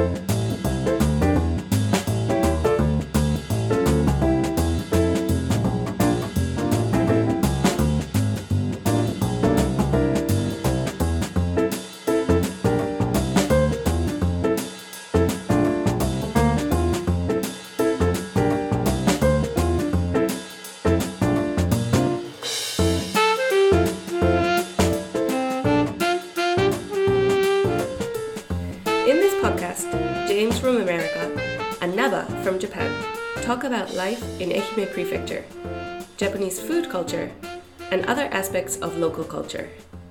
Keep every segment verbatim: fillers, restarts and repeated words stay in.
In this podcast, James from America and Naba from Japan talk about life in Ehime Prefecture, Japanese food culture, and other aspects of local culture.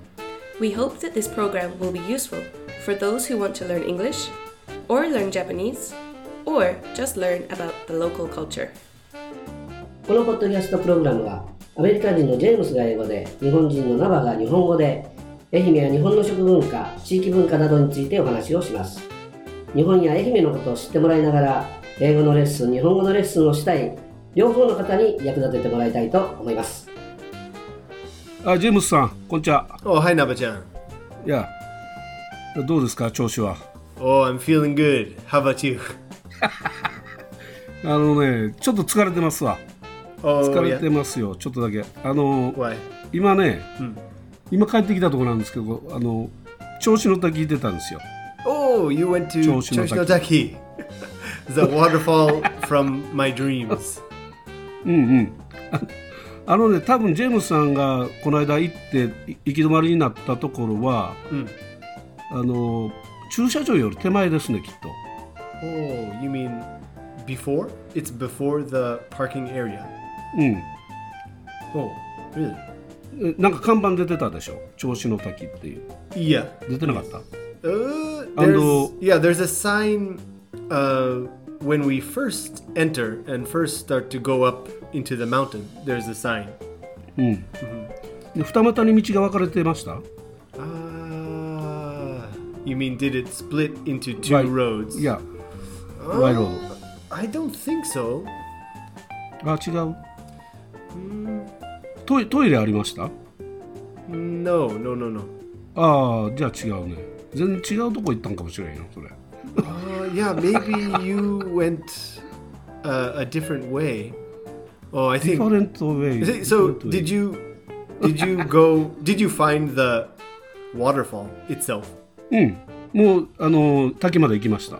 We hope that this program will be useful for those who want to learn English, or learn Japanese, or just learn about the local culture. このポッドキャストプログラムはアメリカ人のジェームスが英語で、日本人のナバが日本語で、愛媛や日本の食文化、地域文化などについてお話をします。日本や愛媛のことを知ってもらいながら、英語のレッスン、日本語のレッスンをしたい両方の方に役立ててもらいたいと思います。 あ、ジェームスさん、こんにちは。 Oh, hi, Naba-chan. いや、どうですか、調子は。 Oh, I'm feeling good. How about you? あのね、ちょっと疲れてますわ。 Oh, 疲れてますよ、ちょっとだけ。あの、 Why? 今ね、 うん、 今帰ってきたところなんですけど、あの、銚子の滝行ってたんですよ。 Oh, you went to 銚子の滝。The waterfall from my dreams. うんうん。あのね、多分ジェームスさんがこの間行って行き止まりになったところは、うん、あの駐車場より手前ですね、きっと。 Oh, you mean before? It's before the parking area. うん。 Oh, really? なんか看板出てたでしょ、銚子の滝っていう。 いや、 出てなかった。 Uh, there's, yeah, there's a sign uh, when we first enter and first start to go up into the mountain. There's a sign. うん。うん、で二股に道が分かれてました？ Uh, you mean did it split into two right. roads? Yeah. Uh, right road. I don't think so. あ、違う。Mm. トイ、トイレありました？ No, no, no, no. ああ、じゃあ違うね。全然違うとこ行ったんかもしれんよ、それ。 uh, yeah, maybe you went uh, a different way. Oh, I think different way. So, different way. did you did you go? Did you find the waterfall itself? うん、もうあの滝まで行きました。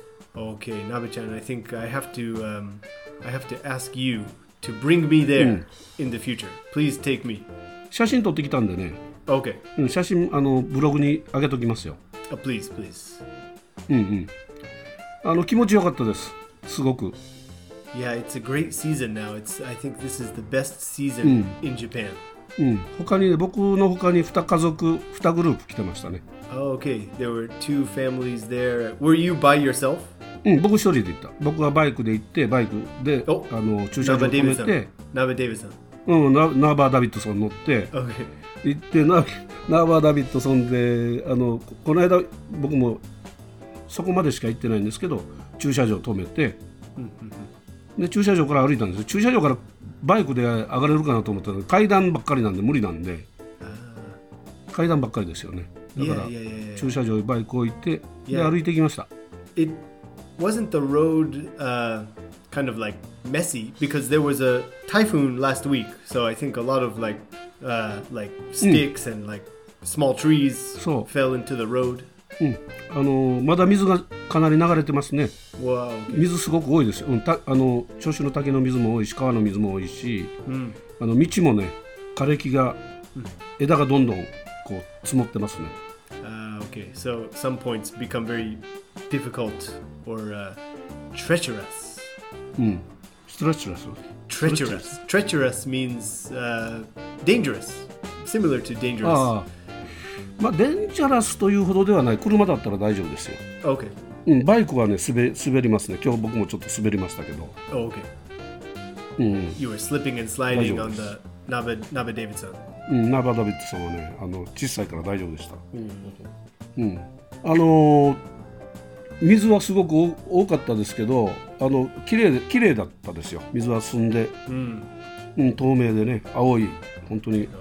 Okay, Naba-chan, I think I have to um, I have to ask you to bring me there、うん、in the future. Please take me. 写真撮ってきたんでね。 Okay. うん、写真あのブログに上げときますよ。 Oh, please, please. うんうん。あの気持ちよかったです。すごく。 Yeah, it's a great season now. It's I think this is the best season、うん、in Japan. うん。他にね、僕の他にに家族にグループ来てましたね。 Oh, okay. There were two families there. Were you by yourself? うん、僕一人で行った。僕はバイクで行ってバイクであの駐車場止めて。 ナバ・デイビッドソン。 うん、ナ, ナーバー・ダビッドソン乗って、 okay. 行ってナ, ナーバー・ダビッドソンであのこの間僕もそこまでしか行ってないんですけど駐車場止めて、で駐車場から歩いたんですよ。駐車場からバイクで上がれるかなと思ったら階段ばっかりなんで無理なんで、階段ばっかりですよね。だから駐車場にバイク置いてで歩いてきました。 It wasn't the road、uh, kind of like messy because there was a typhoon last week, so I think a lot of like、uh, like sticks、うん、and like small trees fell into the road。 うん、あのまだ水がかなり流れてますね。 Wow. 水すごく多いですよ。うん、たあの銚子の滝の水も多いし川の水も多いし、うん、あの道もね枯れ木が、うん、枝がどんどんこう積もってますね。 Uh, okay, so some points become very difficult or、uh, treacherous. うん、treacherous. Treacherous. Treacherous means、uh, dangerous. Similar to dangerous. あまあ、デンジャラスというほどではない。車だったら大丈夫ですよ。 Okay. うん、バイクはね滑、滑りますね。今日僕もちょっと滑りましたけど。 Oh, okay. うん、 You were slipping and sliding on the Naba, Naba Davidson. うん、ナバダビッドソンはね、あの小さいから大丈夫でした。うん、うん、あのー、水はすごく多かったですけど、あの綺麗で綺麗だったですよ。水は澄んで、うんうん、透明でね、青い本当に。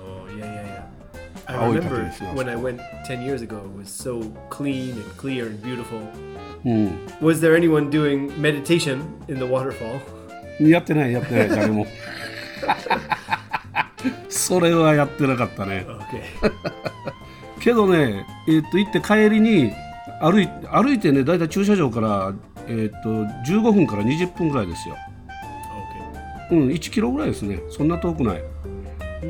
I remember when I went ten years ago, it was so clean and clear and beautiful. うん、 Was there anyone doing meditation in the waterfall? やってないやってない誰もそれはやってなかったね。 Okay. けどね、えー、っと行って帰りに歩い歩いてね、だいたい駐車場から、えー、っとじゅうごふんからにじゅっぷんぐらいですよ。 Okay. うん、いちキロぐらいですね。そんな遠くない。うん、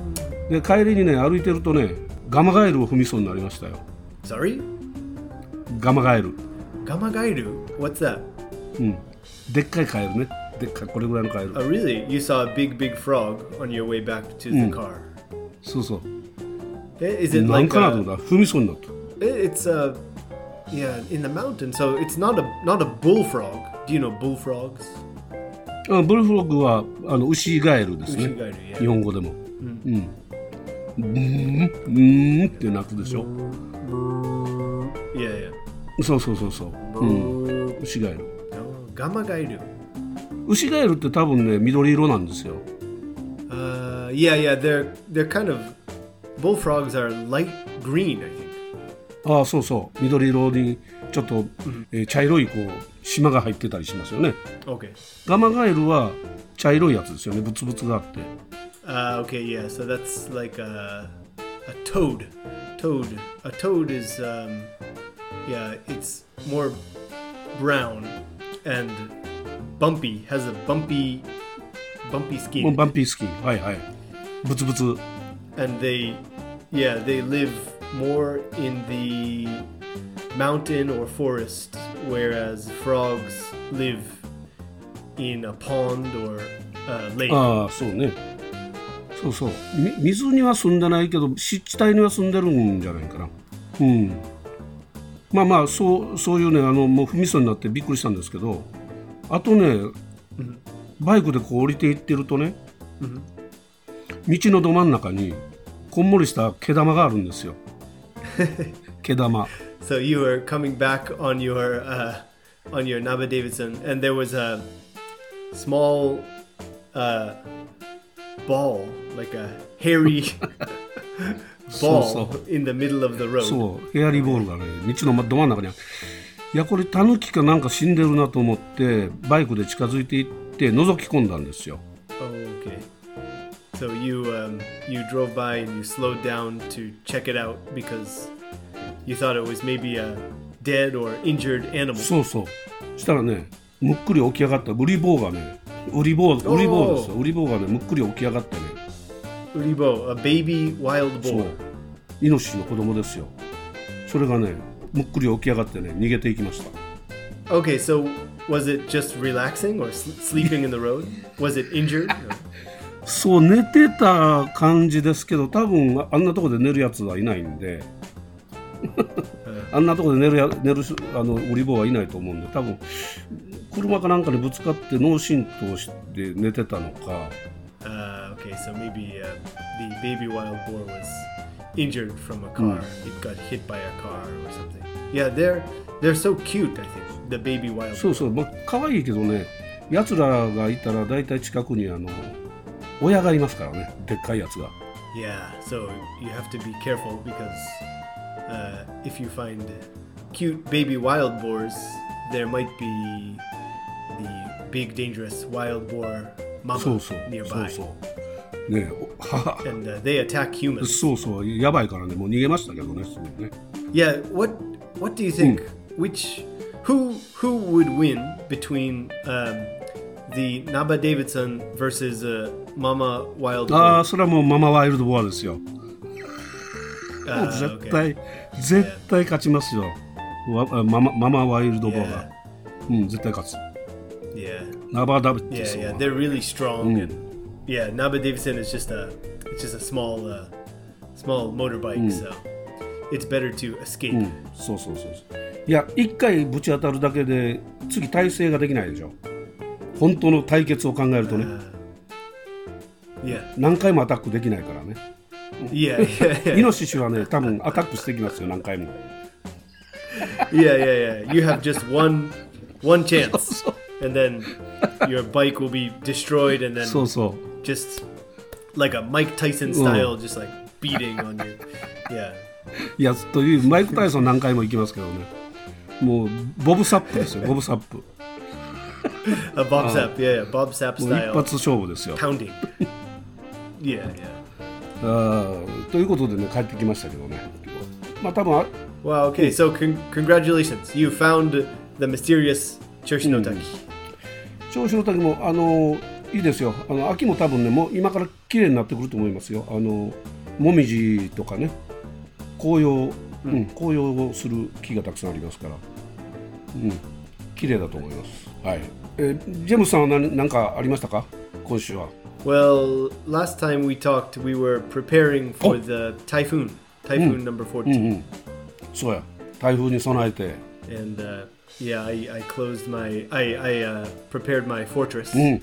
で帰りにね歩いてるとね、ガマガエルを踏みそうになりましたよ。 Sorry? ガマガエル。 Gamagairu? What's that? うん、でっかいカエルね。でっかいこれぐらいのカエル。 Oh, really? You saw a big, big frog on your way back to the car. そうそう。 Is it なん like かなと a, 思った。踏みそうになった。 it's a yeah in the mountain, so it's not a not a bullfrog. Do you know bullfrogs? あ、ブルフロッグはあのウシガエルですね。 ウシガエル、yeah. 日本語でも。うん。うん。うーんって鳴くでしょ。 Yeah, yeah. そうそうそうそう。うん。ウシガエル。 Oh, Gamagairu. ウシガエルって多分ね緑色なんですよ。 Uh, yeah, yeah. They're they're kind of bullfrogs are light green, I think. ああそうそう。緑色にちょっと、うんえー、茶色いこう島が入ってたりしますよね。 Okay. ガマガエルは茶色いやつですよね。ブツブツがあって。 Uh, okay, yeah. So that's like a a toad. Toad. A toad is um, yeah. It's more brown and bumpy. Has a bumpy, bumpy もう skin. バンピースキン。はいはい。ブツブツ。 And they, yeah, they live more in the mountain or forest, whereas frogs live in a pond or a lake. ああそうね。そうそう。み水には住んでないけど湿地帯には住んでるんじゃないかな。うん。まあまあそうそういうねあのもう踏みそうになってびっくりしたんですけど、あとね、バイクでこう降りていってるとね、道のど真ん中にこんもりした毛玉があるんですよ。毛玉。 So you were coming back on your uh, on your Naba Davidson, and there was a small uh, ball, like a hairy そうそ ball う in the middle of the road. そうヘアリーボールがね道のど真ん中にある。いやこれタヌキかなんか死んでるなと思ってバイクで近づいていって覗き込んだんですよ。 Oh, okay. So you um, you drove by and you slowed down to check it out because you thought it was maybe a dead or injured animal. そうそうしたらねむっくり起き上がったウリボウがねウリボウウリボウですよ。ウリボウがねむっくり起き上がってね Uribo, a baby wild そう boar. イノシシの子供ですよ。それがねむっくり起き上がってね逃げていきました。 Okay, so was it just relaxing or sl- sleeping in the road? Was it injured? Or- そう寝てた感じですけど多分あんなとこで寝るやつはいないんであんなとこで寝るや寝るあのウリボウはいないと思うんで多分車かなんかにぶつかって脳震盪して寝てたのか。 Uh, okay, so maybe uh, the baby wild boar was injured from a car. It got hit by a car or something. Yeah, they're they're so cute. I think the baby wild. そうそう、まあ可愛いけどねやつらがいたらだいたい近くにあの親がいますからねでっかいやつが。 Yeah, so you have to be careful because uh, if you find cute baby wild boars, there might be the big dangerous wild boar そう mama そう nearby, そうそうねは and uh, they attack humans. そうそうやばいからねもう逃げましたけどねすぐね。 Yeah, what what do you think? Which who who would win between um, the Naba Davidson versus uh, Mama Wild あ Boar? あそれはもうママワイルドボアですよ。 Uh, 絶 okay. 対絶対勝ちますよ。わママママワイルドボアが、うん絶対勝つ。 Yeah. ナバダビッ Yeah, トソン yeah, は they're really strong, and yeah, Naba Davidson is just a, it's just a small, uh, small motorbike, so it's better to escape. うんそうそうそうそう。いや一回ぶち当たるだけで次体制ができないでしょ。本当の対決を考えるとね Uh, yeah, 何回もアタックできないからね。 yeah, yeah, イ yeah, ノシシはね多分アタックしてきますよ何回も。 yeah, yeah, yeah. You have just one, one chance, and then your bike will be destroyed, and then そうそう。 just like a Mike Tyson style, just like beating on you. Yeah. いやというマイク・タイソン何回も行きますけどね。 もうボブサップですよボブサップ A Bob Sapp, yeah, yeah, Bob Sapp もう一 style 発勝負ですよ pounding. Yeah, yeah. あーということでね帰ってきましたけどねまあ多分あ Wow, okay, so con- congratulations. You found the mysterious Choshi-no-taki. 銚子の滝もあのいいですよあの秋も多分ねもう今から綺麗になってくると思いますよあのもみじとかね紅葉、うん、紅葉をする木がたくさんありますから、うん、綺麗だと思います、はいえー、ジェームスさんは何、何かありましたか今週は Well, last time we talked, we were preparing for the typhoon, typhoon number fourteen. うんうん、そうや台風に備えて And uh, yeah, I, I closed my, I, I uh, prepared my fortress. うん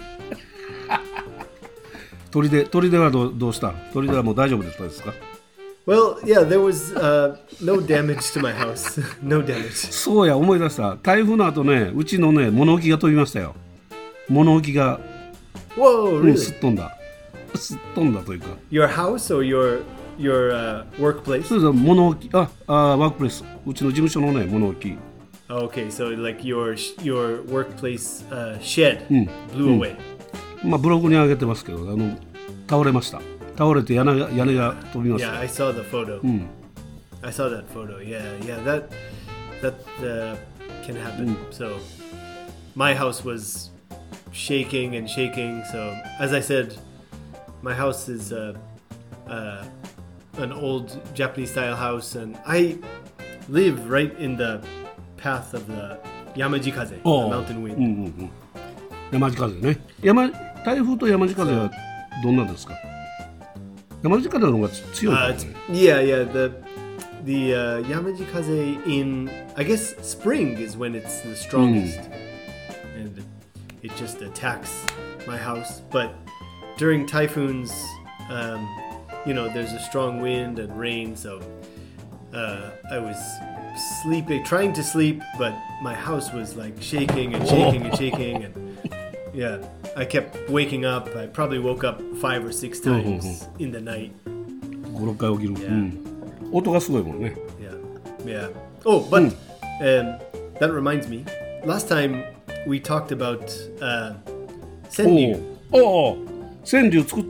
砦砦はどう、どうした砦はもう大丈夫だったですか Well, yeah, there was uh, no damage to my house. No damage. そうや思い出した台風の後ねうちのね物置が飛びましたよ物置が、 Whoa, うん、 really? すっ飛んだすっ飛んだというか Your house or your your uh, workplace? そうです物置ああワークプレスうちの事務所のね物置 Okay, so like your sh- your workplace uh, shed Mm. blew away. まあブログに上げてますけどあの倒れました倒れて屋根が屋根が飛びまし Yeah, た I saw the photo. うん I saw that photo. Yeah, yeah, that that uh, can happen. So my house was shaking and shaking. So as I said, my house is uh, uh, an old Japanese style house, and I live right in the path of the Yamajikaze, Oh. the mountain うん wind. うんうん山地風ね山台風と山地風はどんなんですか山地風の方が強い Uh, か it's, ね yeah, yeah. The the uh, Yamajikaze in I guess spring is when it's the strongest, and it just attacks my house. But during typhoons, um, you know, there's a strong wind and rain, so uh, I was sleeping, trying to sleep, but my house was like shaking and shaking and shaking, and yeah, I kept waking up. I probably woke up five or six times in the night. ご、ろっかい起きる、 Yeah. うん音がすごいもんね Yeah, yeah. Oh, but um, that reminds me. Last time we talked about uh, お senryu. おお川柳作った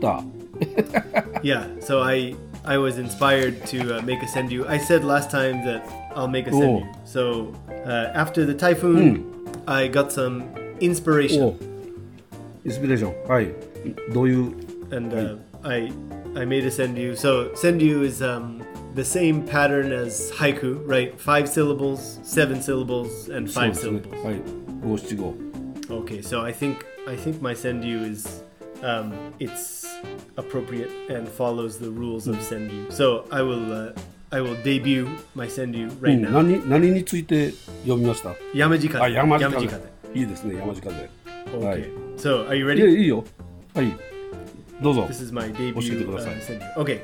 Yeah, so I I was inspired to uh, make a senryu. I said last time that I'll make a senryu. So uh, after the typhoon, I got some お inspiration, インスピレーションはいどういう and uh, I I made a senryu. So senryu is um, the same pattern as haiku, right? Five syllables, seven syllables, and そう five ですね syllables. はい五七五 Okay, so I think I think my senryu is um, it's appropriate and follows the rules of senryu. So I will uh, I will debut my senryu う right ん now. 何何について読みました Yamajikaze. あ山地風 Yamajikaze. いいですね山地風 Okay. はい So are you い ready? やいいよはいどうぞ This is my 教えて debut くだ uh, さい senryu. Okay.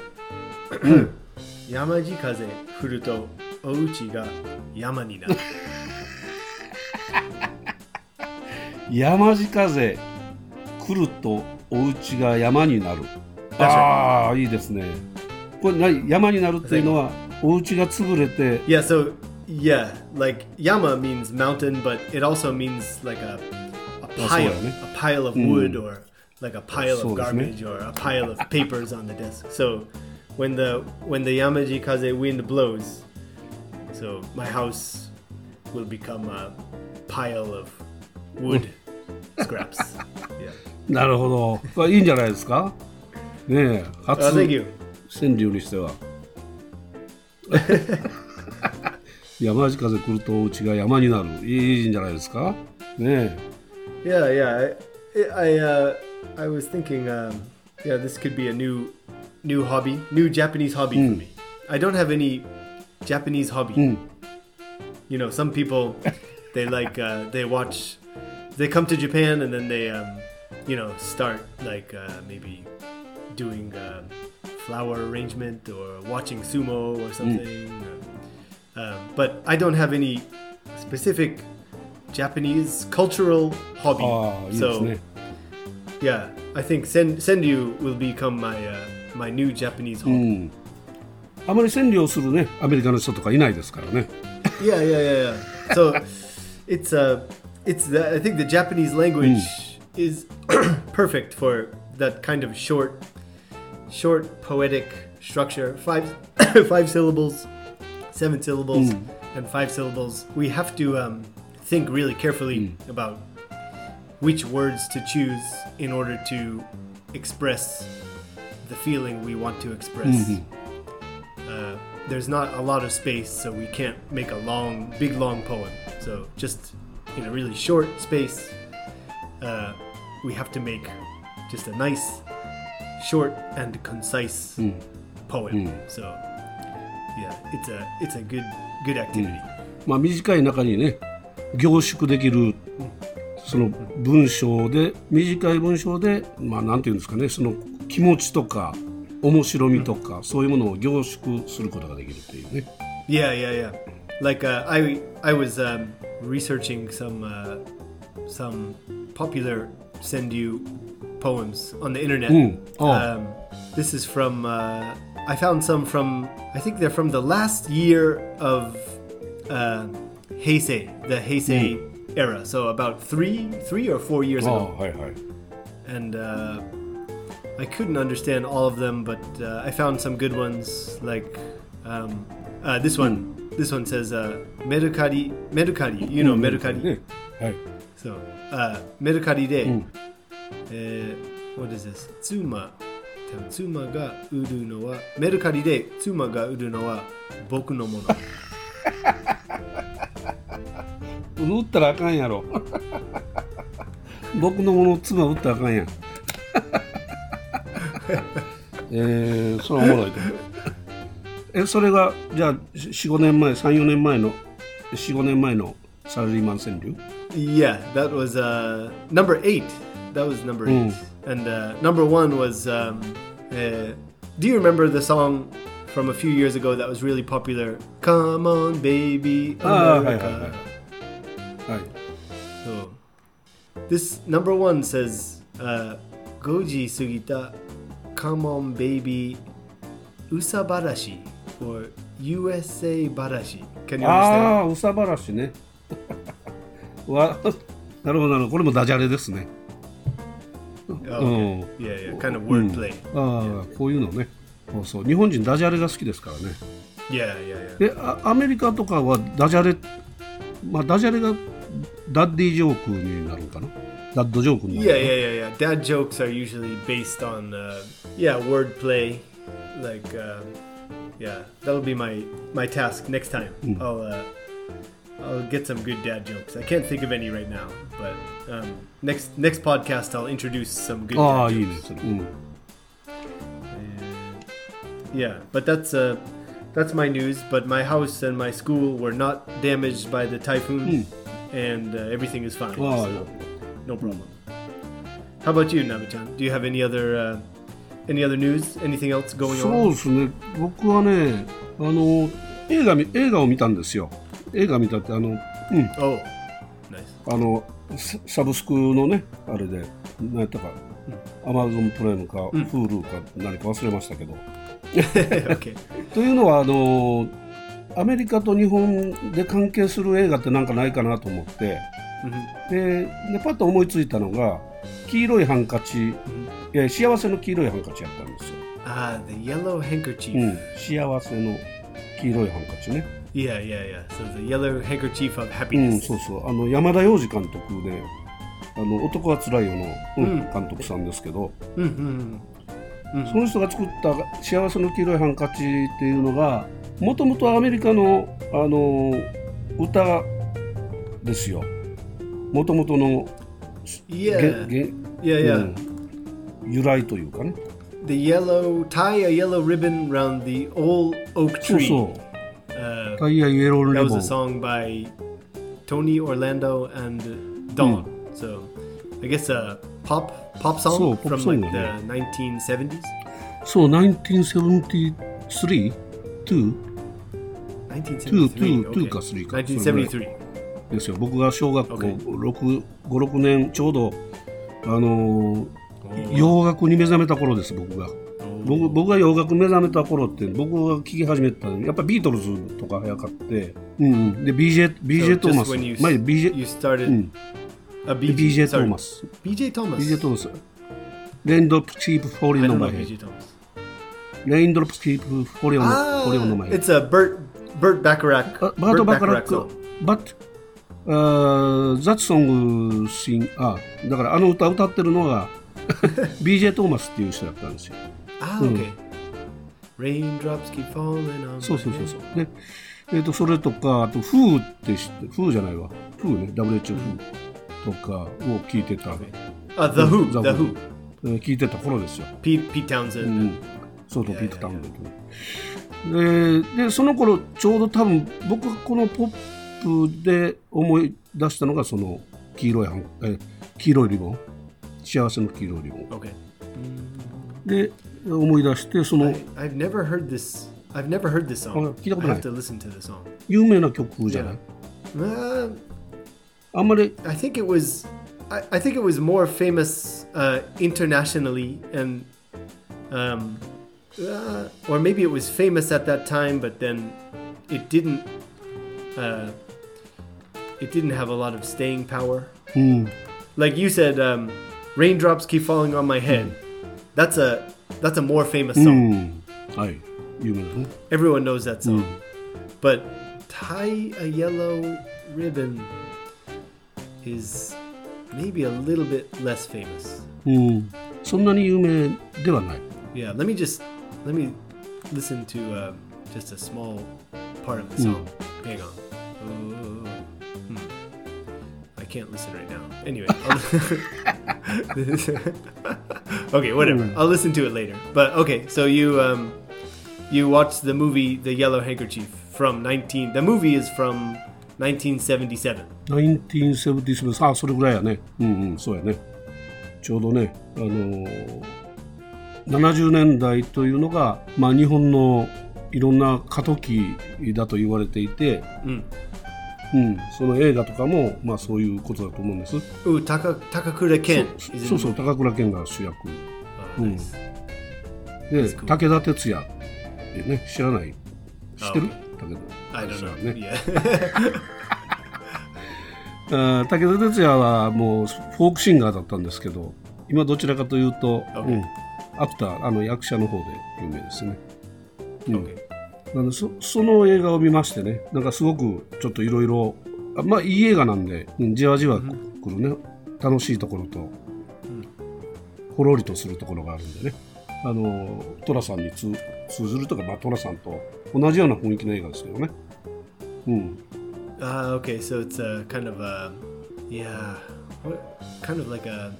山地風降るとお家が山になる。 山地風来るとお家が山になるああいいですねこれ何山になるっていうのはお家が潰れて Yeah, so yeah, like yama means mountain, but it also means like a, a Oh, pile, so, yeah. a pile of wood or like a pile So, of garbage or a pile of papers on the desk. So when the when the Yamaji Kaze wind blows, so my house will become a pile of wood scraps. Yeah. なるほどこれいいんじゃないですかねえ初 Oh, thank you. 川柳にしては山地風来るとお家が山になるいいんじゃないですかね Yeah, yeah. I, I, uh, I was thinking, um, yeah, this could be a new, new hobby, new Japanese hobby for me. I don't have any Japanese hobby. You know, some people, they like, uh, they watch, they come to Japan and then they, um, you know, start like uh, maybe doing uh, flower arrangement or watching sumo or something. Um, but I don't have any specific Japanese cultural hobby. ああいいです So ね yeah, I think sen- senryu will become my uh, my new Japanese う hobby. んあまり川柳をするねアメリカの人とかいないですからね Yeah, yeah, yeah, yeah. So it's uh, it's the, I think the Japanese language is perfect for that kind of short, short poetic structure. Five, five syllables, seven syllables, Mm. and five syllables. We have to um, think really carefully about which words to choose in order to express the feeling we want to express. Uh, there's not a lot of space, so we can't make a long, big, long poem. So just in a really short space, uh, we have to make just a nice, short and concise poem. So yeah, it's a it's a good good activity. まあ短い中にね凝縮できるその文章で短い文章でまあなんていうんですかねその気持ちとか面白みとか、そういうものを凝縮することができるっていうね。 Yeah, yeah, yeah. Like uh, I I was um, researching some uh, some popular Senryu poems on the internet. Mm. Oh. Um, this is from uh, I found some from I think they're from the last year of uh, Heisei, the Heisei era. So about three three or four years ああ ago. はいはい。 And uh, I couldn't understand all of them, but uh, I found some good ones. Like um, uh, this one. This one says uh, Mercari. Mercari. You know Mercari. ねはい。 So uh, Mercari de. うん。 Uh, what is this? Tsuma. 妻が売るのはメルカリで妻が売るのは僕のもの。 売ったらあかんやろ。僕のもの妻売ったらあかんやん。えー、それはおもろいと思う。え、それがじゃあよん、ごねんまえ、さん、よねんまえのよん、ごねんまえのサラリーマン川柳 Yeah, that was uh, number eight. That was number eight. And uh, number one was, um, uh, do you remember the song from a few years ago that was really popular? Come on, baby, America. ああ、はいはいはい。はい。 So, this number one says, uh, Goji sugita, come on, baby, usa barashi, or U S A barashi. Can you あ understand? あ、うさばらしね。わ、なるほどなるほど。これもダジャレですね。 Oh, okay. Yeah, yeah, kind of wordplay. ああ、こういうのね。そうそう。日本人ダジャレが好きですからね。 Yeah, yeah, yeah. で、あアメリカとかはダジャレ、まあダジャレがダッディジョークになるのかな。ダッドジョークになる Yeah, のかな。 yeah, yeah, yeah. Dad jokes are usually based on, uh, yeah, wordplay. Like, uh, yeah, that'll be my my task next time. I'll uh, I'll get some good dad jokes. I can't think of any right now, but um, next next podcast I'll introduce some good ああ、 dad いい jokes. ね。それうん Yeah, but that's uh, that's my news. But my house and my school were not damaged by the typhoon, and uh, everything is fine. ああ、 So no problem. How about you, Nabe-chan? Do you have any other uh, any other news? Anything else going そう on? ですね。僕はね、あの映画み映画を見たんですよ。映画見たってあの、うん、 Oh, nice. あのササブスクのねあれで何やったか、アマゾンプライムか、Hulu か何か忘れましたけど。 Okay. というのはあのアメリカと日本で関係する映画ってなんかないかなと思って、ででパッと思いついたのが黄色いハンカチ、え幸せの黄色いハンカチやったんですよ。 Ah, the yellow handkerchief. うん、幸せの黄色いハンカチね。 Yeah, yeah, yeah. So the yellow handkerchief of うん、 happiness. そうそうあの山田洋次監督であの男はつらいよの、うん監督さんですけど、 Mm-hmm. その人が作った幸せの黄色いハンカチっていうのがもともとアメリカのあの歌ですよ。もともとの Yeah. げげ Yeah, yeah. うん由来というかね。 The yellow tie a yellow ribbon round the old oak そう tree. そう。 Uh, タイヤイエロー that レ was ボ a ン。 song by Tony Orlando and Dawn. So I guess a pop pop song So, pop from song, like yeah. the nineteen seventies. そう、ナインティーンセブンティースリー、ツー nineteen seventy-three. two Okay. かthreeか。 nineteen seventy-three. ですよ。僕が小学校 Okay. ろく、ご、ろくねんちょうどあのー洋楽に目覚めた頃です僕が。 Oh, 僕, 僕が洋楽目覚めた頃って僕が聴き始めたのやっぱビートルズとか早かって、うんうん、で ビージェー, ビージェー トーマス you, 前 ビージェー, you started、うん、 a ビージェー トーマスビージェー トーマスビージェー トーマスレインドロップキープフォーリンオンマイヘッドレインドロップキープフォーリンオンマイヘッド It's a Burt Burt Bacharach Burt Bacharach song But Uh, that song sing あだからあの歌歌ってるのがビージェー トーマスっていう人だったんですよ。 あ、うん、OK。Raindrops keep falling on my head。 そうそうそうそう。ね、えっ、ー、とそれとかあとフーって知ってフーじゃないわ。フーね ダブリューエイチオー フーとかを聞いてた。 あ、The Who The Who 聞いてた頃ですよ。 ピーピータウンゼンド。うん、 そうそうピートタウンゼンド。ででその頃ちょうど多分僕がこのポップで思い出したのがその黄色いえ黄色いリボン幸せの黄色いリボン、okay. で思い出してその I, I've never heard this I've never heard this song 聞いたことない I have to listen to the song 有名な曲じゃない、 yeah. uh, あんまり I think it was I, I think it was more famous、uh, internationally and um, uh, or maybe it was famous at that time but then it didn't uh, it didn't have a lot of staying power. Mm. Like you said, um, raindrops keep falling on my head. Mm. That's a that's a more famous song. Mm. Aye. You know. Everyone knows that song. Mm. But tie a yellow ribbon is maybe a little bit less famous. Mm. そんなに有名ではない。 Yeah, let me just let me listen to uh, just a small part of the song. Mm. Hang on. Uh, hmm. I can't listen right now. Anyway, okay, whatever. I'll listen to it later. But okay, so you um, you watched the movie The Yellow Handkerchief from nineteen. The movie is from nineteen seventy-seven. nineteen seventy-seven. あ、それぐらいやね。うんうん、そうやね。ちょうどね、あのー、ななじゅうねんだいというのが、まあ日本のいろんな過渡期だと言われていて、うんうん、その映画とかも、まあ、そういうことだと思うんです。 う高倉健。 そうそう、高倉健が主役。うん、で、武田鉄矢ってね、知らない？知ってる？武田鉄矢ね。あ、武田鉄矢はもうフォークシンガーだったんですけど、今どちらかというと、okay. うん、アクター、あの役者の方で有名ですね。うん okay.なんで そ, その映画を見ましてね、なんかすごくちょっといろいろ、まあいい映画なんで、じわじわくるね、楽しいところと、うん、ほろりとするところがあるんでね、あのトラさんに通ずるとか、まあ、トラさんと同じような雰囲気の映画ですけどね。うん。 Uh, okay, so it's a kind of a, yeah, what, kind of like a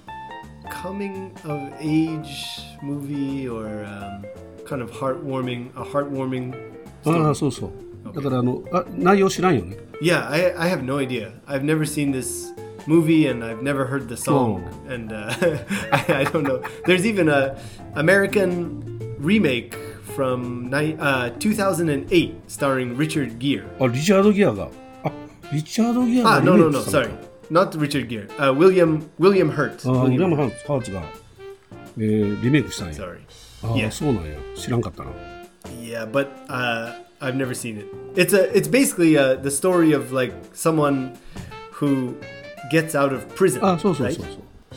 coming of age movie or um, kind of heartwarming, a heartwarming. ああ、そうそう。だからあのあ内容知らんよね。 Yeah, I I have no idea. I've never seen this movie and I've never heard the song. Oh. And uh, I, I don't know. There's even a American remake from uh, two thousand eight starring Richard Gere. あ、リチャード・ギアが。あ、リチャード・ギアが。 あ、no no no, sorry, not Richard Gere. Uh, William William Hurt. あ、ウィリアム・ハーツが、えー、リメイクしたんや。 Sorry. あ、yeah. そうなんや。知らんかったな。 Yeah, but uh, I've never seen it. It's a it's basically uh, the story of like someone who gets out of prison. あ、そうそうそうそう。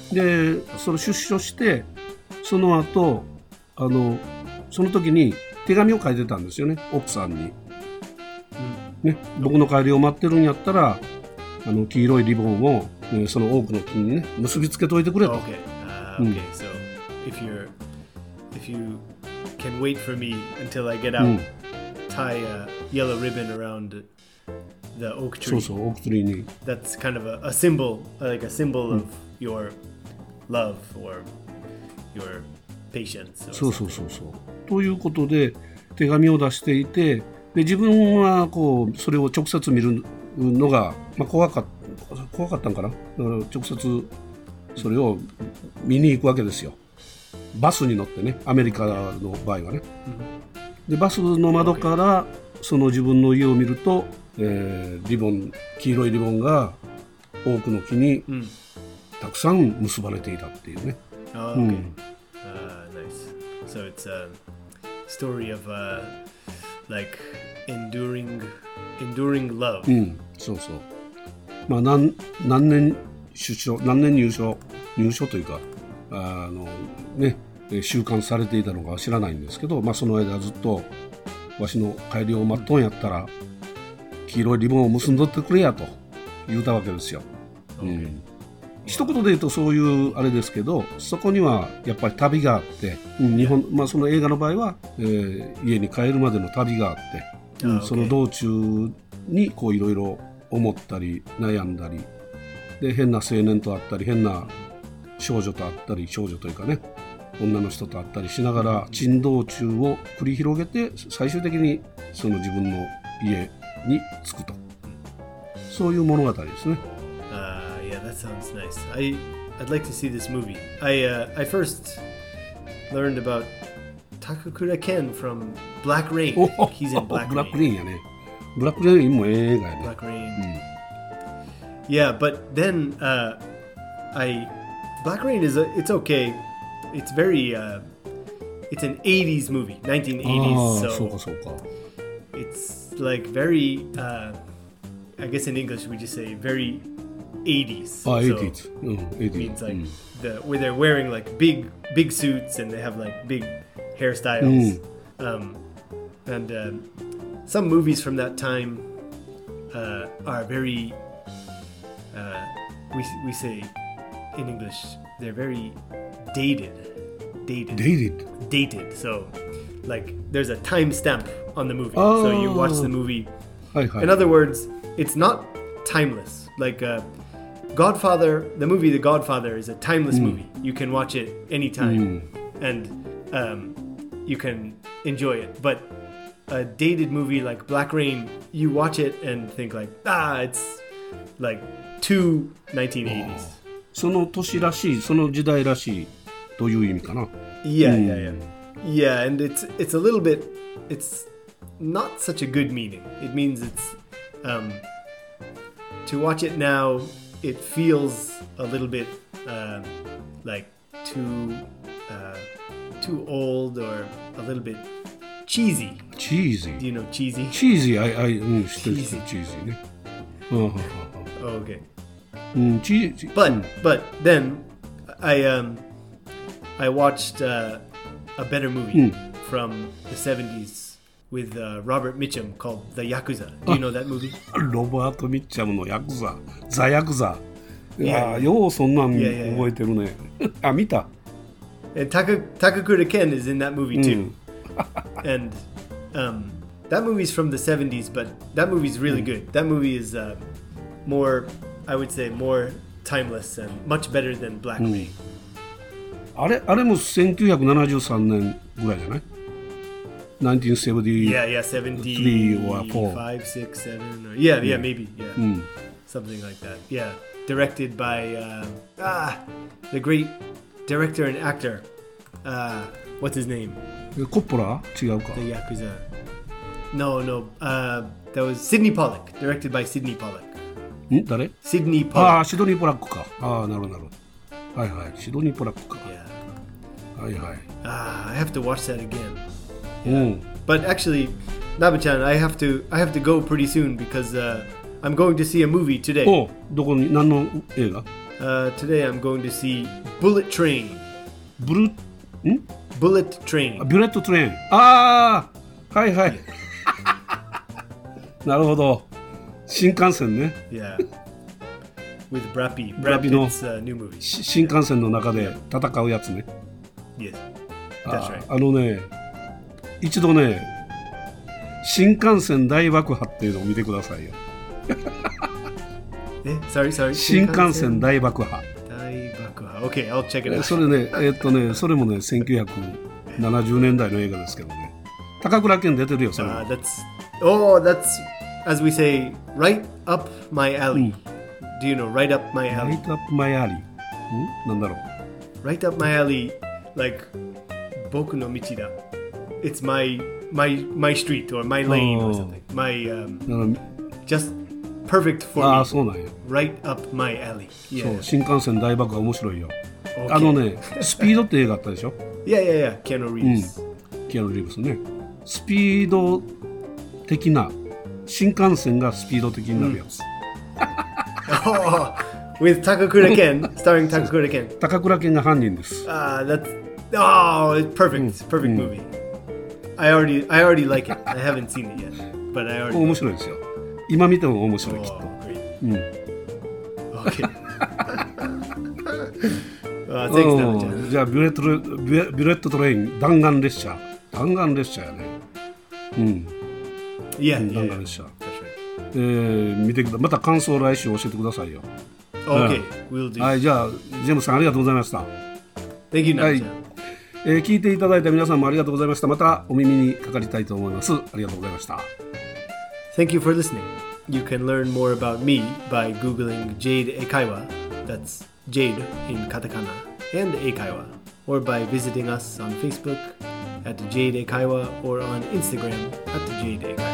で、その出所してその後あのその時に手紙を書いてたんですよね、奥さんに。うん、ね、僕の帰りを待ってるんやったらあの黄色いリボンを、えー、その多くの木にね結びつけといてくれと。 Okay. Uh, okay. うん、so if you're if you can wait for me until I get out,、うん、tie a yellow ribbon around the oak tree. そうそう、オークツリーに。 That's kind of a, a symbol, like a symbol、うん、of your love or your patience. そうそうそうそう。ということで手紙を出していて、で自分はこうそれを直接見るのが、まあ、怖かった怖かったんかな。だから直接それを見に行くわけですよ。バスに乗ってね、アメリカの場合はね。でバスの窓からその自分の家を見ると、えー、リボン黄色いリボンが多くの木にたくさん結ばれていたっていうね。 うん、uh, nice. So it's a story of uh, like enduring, enduring love. うん、そうそう。まあ何何年出所、何年入所、入所というか、あのね、収監されていたのか知らないんですけど、まあその間ずっとわしの帰りを待っとんやったら、黄色いリボンを結んどってくれやと言うたわけですよ。うん。一言で言うとそういうあれですけど、そこにはやっぱり旅があって、うん、日本、まあその映画の場合は、えー、家に帰るまでの旅があって、うん、その道中にこういろいろ思ったり悩んだり、で変な青年と会ったり、変な少女と会ったり、少女というかね、女の人と会ったりしながら珍道中を繰り広げて、最終的にその自分の家に着くと、そういう物語ですね。 Yeah, that sounds nice. I I'd like to see this movie. I uh, I first learned about Takakura Ken from Black Rain. He's in Black Rain. Black Rain やね。Black Rain も映画やね。 Black Rain. Yeah, but then uh, I Black Rain is a, it's okay. It's very uh, it's an eighties movie, nineteen eighties. So そうかそうか。 It's like very. Uh, I guess in English we just say very. eighties. Ah, eighties. So mm, eighties. It means like mm. the where they're wearing like big big suits and they have like big hairstyles. Mm. Um, and uh, some movies from that time uh, are very uh, we we say in English they're very dated. Dated. Dated. Dated. So like there's a time stamp on the movie. Oh. So you watch the movie. Hi, hi. In other words, it's not timeless. Like uh, Godfather, the movie The Godfather is a timeless mm. movie. You can watch it anytime mm. and um, you can enjoy it. But a dated movie like Black Rain, you watch it and think like, ah, it's like too nineteen eighties. その年らしい、その時代らしいという意味かな。 Yeah, mm. yeah, yeah. Yeah, and it's it's a little bit, it's not such a good meaning. It means it's, um, to watch it now, it feels a little bit uh, like too uh, too old or a little bit cheesy. Cheesy. Do you know cheesy? Cheesy. I I うん知ってる知ってる cheesy ね。 Oh, okay. うん cheesy. But but then I um I watched uh, a better movie mm. from the seventies with uh, Robert Mitchum called The Yakuza. Do you know that movie? ロバート・ミッチャムのヤクザ、ザ・ヤクザ。いや、ようそんなん覚えてるね。あ、見た。 And Taka, Takakura Ken is in that movie too. And um, that movie's from the seventies, but that movie's really good. That movie is uh, more, I would say, more timeless and much better than Black Rain. あれ、あれもせんきゅうひゃくななじゅうさんねんぐらいじゃない？nineteen seventy-three Yeah, yeah, seventy-five, or four. six, seven, or yeah, yeah, Yeah. maybe, yeah, Mm. something like that. Yeah, directed by uh, ah, the great director and actor. Uh, what's his name? コッポラ？違うか。 The Yakuza. No, no. Uh, that was Sidney Pollack. Directed by Sidney Pollack. ん？誰？ Sidney ああ、 Pollack. シドニー・ポラックか。ああ、なるほどなるほど。はいはい、シドニー・ポラックか。 Yeah. はいはい。 Ah, I have to watch that again. うん。 But actually, Naba-chan, I have to I have to go pretty soon because uh, I'm going to see a movie today. お、どこに何の映画？ Uh, today I'm going to see Bullet Train. ブルん？ Bullet Train. ビュレット・トレイン。ああ、はいはい。なるほど。新幹線ね。 Yeah. With Brad Pitt. Brad Brad Pitt の Pitt's uh, new movie. し新幹線の中で戦うやつね。 Yes. あ That's right. あのね、一度ね、新幹線大爆破っていうのを見てくださいよ。 Eh? Sorry, sorry. 新幹線大爆破。 Daibakuha. Okay, I'll check it out. それね、えーっとね、それもね、せんきゅうひゃくななじゅうねんだいの映画ですけどね。高倉健出てるよ、それも。 Uh, that's oh, that's as we say, right up my alley. Do you know right up my ラ alley? イトアップマイアリー。んなんだろう。 Right up my alley, like Boku no Michida. It's my my my street or my lane or Oh. something. My um, だか just perfect for らああ、 me. そうなんよ。 Right up my alley. そう、 Yeah. 新幹線大爆破面白いよ。 Okay. あのねスピードって映画あったでしょ Yeah, yeah, yeah. Keanu Reeves.、 うん、キアヌ・リーブスね。スピード的な新幹線がスピード的になるやつ、 oh, with Takakura Ken, starring Takakura Ken. 高倉健が犯人です。 Ah, uh, that's oh, it's perfect. It's a perfect movie. I already, I already like it. I haven't seen it yet, but I already. 面白いですよ。今見ても面白いきっと。 Oh, great. うん。 Okay. uh, thanks, Nana-chan. じゃあビュレットレビュビュレットトレイン弾丸列車弾丸列車やね。うん。 Yeah, 弾 yeah, 丸 yeah. 列車。 That's right. えー、見てくだまた感想来週教えてくださいよ。 Okay, we'll do. はい、じゃあジェームスさんありがとうございました。 Thank you, はい Nana-chan. えー、聞いていただいた皆さんもありがとうございました。またお耳にかかりたいと思います。ありがとうございました。 Thank you for listening. You can learn more about me by Googling Jade Eikaiwa, that's Jade in katakana, and Eikaiwa, or by visiting us on Facebook at Jade Eikaiwa or on Instagram at Jade Eikaiwa.